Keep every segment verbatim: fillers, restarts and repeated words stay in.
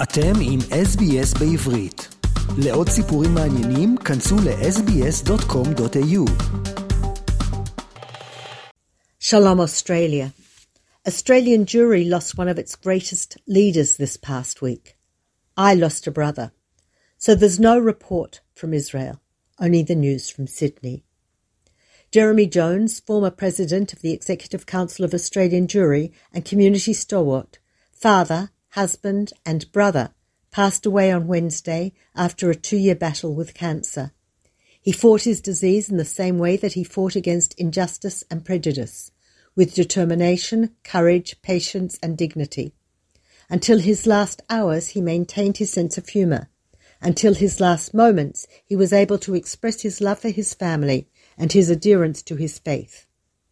אתם עם אס בי אס בעברית. לעוד סיפורים מעניינים, כנסו ל-אס בי אס דוט קום דוט איי יו. Shalom, Australia. Australian Jewry lost one of its greatest leaders this past week. I lost a brother. So there's no report from Israel, only the news from Sydney. Jeremy Jones, former president of the Executive Council of Australian Jewry and community stalwart, father, husband and brother, passed away on Wednesday after a two-year battle with cancer. He fought his disease in the same way that he fought against injustice and prejudice, with determination, courage, patience and dignity. Until his last hours, he maintained his sense of humour. Until his last moments, he was able to express his love for his family and his adherence to his faith.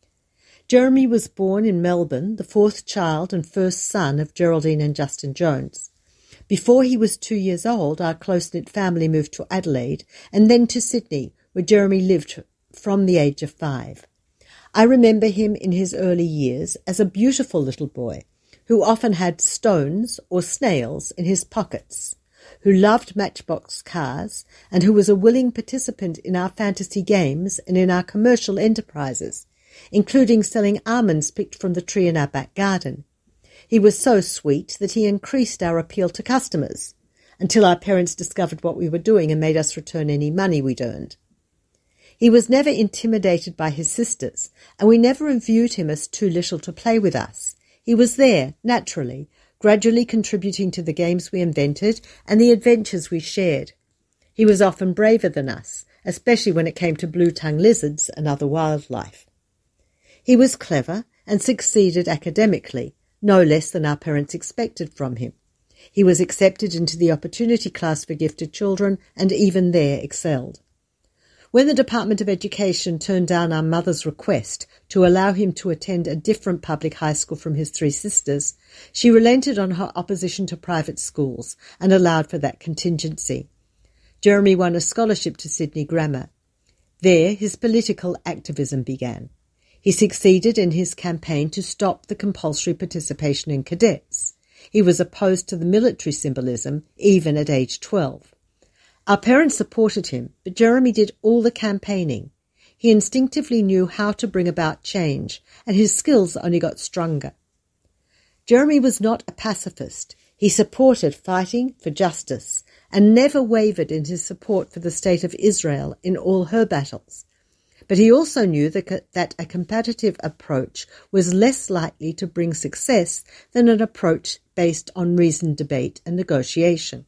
Jeremy was born in Melbourne, the fourth child and first son of Geraldine and Justin Jones. Before he was two years old, our close-knit family moved to Adelaide and then to Sydney, where Jeremy lived from the age of five. I remember him in his early years as a beautiful little boy who often had stones or snails in his pockets, who loved matchbox cars and who was a willing participant in our fantasy games and in our commercial enterprises, including selling almonds picked from the tree in our back garden. He was so sweet that he increased our appeal to customers until our parents discovered what we were doing and made us return any money we'd earned. He was never intimidated by his sisters, and we never viewed him as too little to play with us. He was there, naturally, gradually contributing to the games we invented and the adventures we shared. He was often braver than us, especially when it came to blue-tongue lizards and other wildlife. He was clever and succeeded academically, no less than our parents expected from him. He was accepted into the opportunity class for gifted children and even there excelled. When the Department of Education turned down our mother's request to allow him to attend a different public high school from his three sisters, she relented on her opposition to private schools and allowed for that contingency. Jeremy won a scholarship to Sydney Grammar. There his political activism began. He succeeded in his campaign to stop the compulsory participation in cadets. He was opposed to the military symbolism even at age twelve. Our parents supported him, but Jeremy did all the campaigning. He instinctively knew how to bring about change, and his skills only got stronger. Jeremy was not a pacifist. He supported fighting for justice and never wavered in his support for the state of Israel in all her battles. But he also knew that, that a competitive approach was less likely to bring success than an approach based on reasoned debate and negotiation.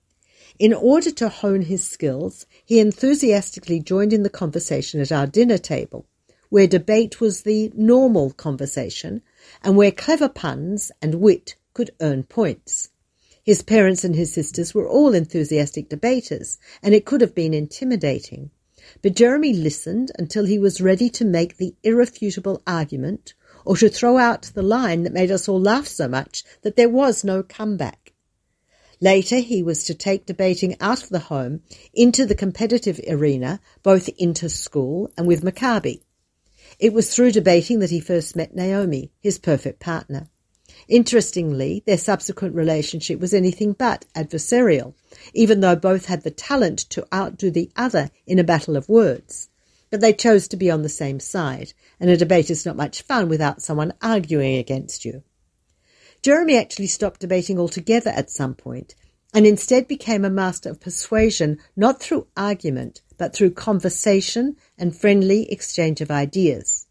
In order to hone his skills, he enthusiastically joined in the conversation at our dinner table, where debate was the normal conversation and where clever puns and wit could earn points. His parents and his sisters were all enthusiastic debaters, and it could have been intimidating. But Jeremy listened until he was ready to make the irrefutable argument or to throw out the line that made us all laugh so much that there was no comeback. Later, he was to take debating out of the home into the competitive arena, both inter-school and with Maccabi. It was through debating that he first met Naomi, his perfect partner. Interestingly, their subsequent relationship was anything but adversarial, even though both had the talent to outdo the other in a battle of words. But they chose to be on the same side, and a debate is not much fun without someone arguing against you. Jeremy actually stopped debating altogether at some point, and instead became a master of persuasion, not through argument, but through conversation and friendly exchange of ideas.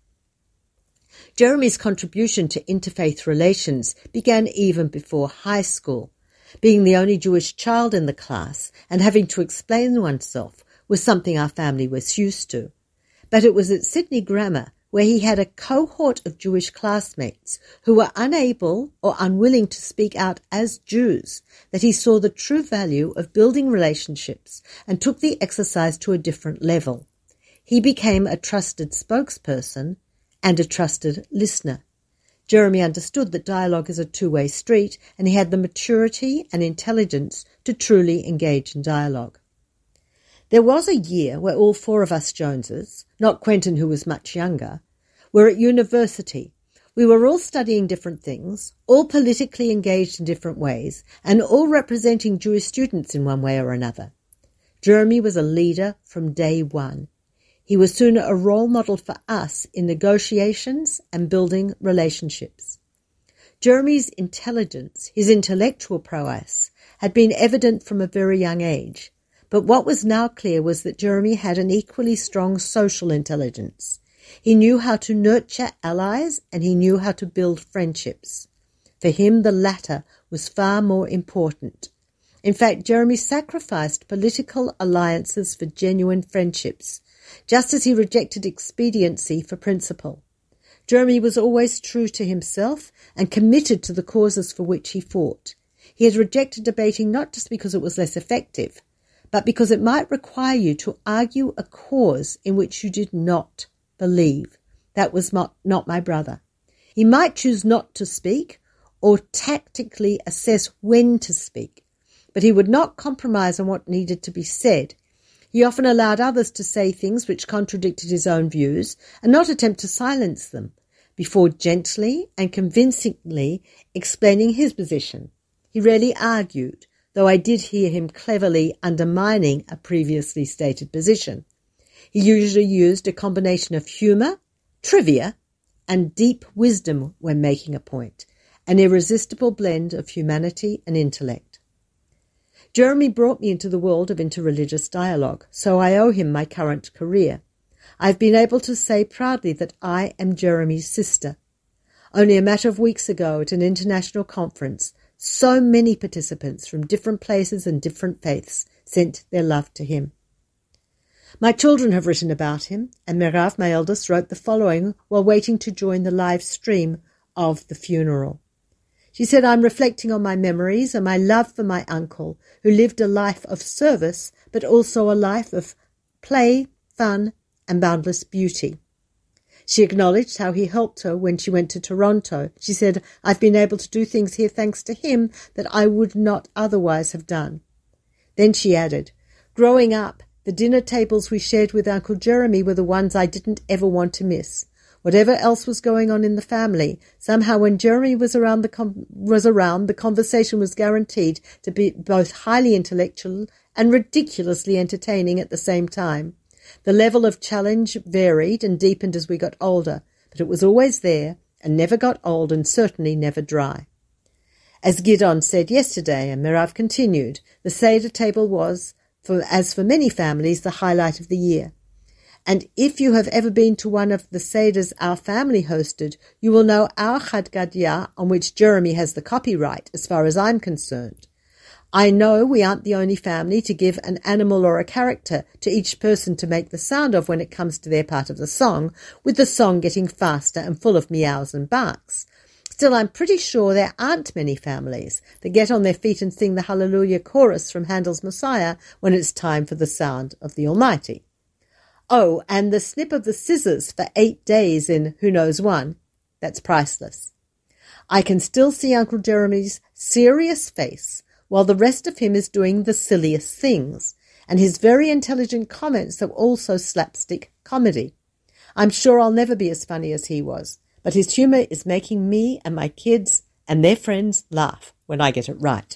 Jeremy's contribution to interfaith relations began even before high school. Being the only Jewish child in the class and having to explain oneself was something our family was used to. But it was at Sydney Grammar, where he had a cohort of Jewish classmates who were unable or unwilling to speak out as Jews, that he saw the true value of building relationships and took the exercise to a different level. He became a trusted spokesperson and a trusted listener. Jeremy understood that dialogue is a two-way street, and he had the maturity and intelligence to truly engage in dialogue. There was a year where all four of us Joneses, not Quentin who was much younger, were at university. We were all studying different things, all politically engaged in different ways, and all representing Jewish students in one way or another. Jeremy was a leader from day one. He was soon a role model for us in negotiations and building relationships. Jeremy's intelligence, his intellectual prowess, had been evident from a very young age, but what was now clear was that Jeremy had an equally strong social intelligence. He knew how to nurture allies and he knew how to build friendships. For him, the latter was far more important. In fact, Jeremy sacrificed political alliances for genuine friendships, just as he rejected expediency for principle. Jeremy was always true to himself and committed to the causes for which he fought. He had rejected debating not just because it was less effective, but because it might require you to argue a cause in which you did not believe. That was not, not my brother. He might choose not to speak or tactically assess when to speak, but he would not compromise on what needed to be said. He often allowed others to say things which contradicted his own views and not attempt to silence them, before gently and convincingly explaining his position. He rarely argued, though I did hear him cleverly undermining a previously stated position. He usually used a combination of humour, trivia, and deep wisdom when making a point, an irresistible blend of humanity and intellect. Jeremy brought me into the world of interreligious dialogue, so I owe him my current career. I've been able to say proudly that I am Jeremy's sister. Only a matter of weeks ago at an international conference, so many participants from different places and different faiths sent their love to him. My children have written about him, and Merav, my eldest, wrote the following while waiting to join the live stream of the funeral. She said, I'm reflecting on my memories and my love for my uncle, who lived a life of service, but also a life of play, fun, and boundless beauty. She acknowledged how he helped her when she went to Toronto. She said, I've been able to do things here thanks to him that I would not otherwise have done. Then she added, growing up, the dinner tables we shared with Uncle Jeremy were the ones I didn't ever want to miss. Whatever else was going on in the family, somehow when Jeremy was around, the com- was around, the conversation was guaranteed to be both highly intellectual and ridiculously entertaining at the same time. The level of challenge varied and deepened as we got older, but it was always there and never got old and certainly never dry. As Gidon said yesterday, and Merav continued, the Seder table was, for, as for many families, the highlight of the year. And if you have ever been to one of the Seders our family hosted, you will know our Chad Gadya, on which Jeremy has the copyright, as far as I'm concerned. I know we aren't the only family to give an animal or a character to each person to make the sound of when it comes to their part of the song, with the song getting faster and full of meows and barks. Still, I'm pretty sure there aren't many families that get on their feet and sing the Hallelujah chorus from Handel's Messiah when it's time for the sound of the Almighty. Oh, and the snip of the scissors for eight days in Who Knows One, that's priceless. I can still see Uncle Jeremy's serious face while the rest of him is doing the silliest things, and his very intelligent comments are also slapstick comedy. I'm sure I'll never be as funny as he was, but his humour is making me and my kids and their friends laugh when I get it right.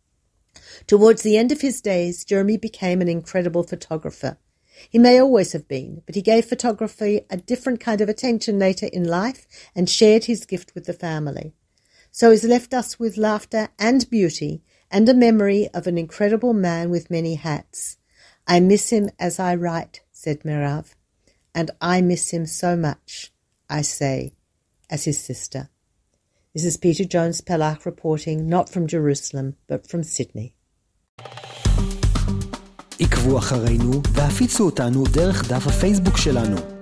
Towards the end of his days, Jeremy became an incredible photographer. He may always have been, but he gave photography a different kind of attention later in life and shared his gift with the family. So he's left us with laughter and beauty and a memory of an incredible man with many hats. I miss him as I write, said Merav, and I miss him so much, I say, as his sister. This is Peter Jones-Pellach reporting, not from Jerusalem, but from Sydney. עקבו אחרינו והפיצו אותנו דרך דף הפייסבוק שלנו.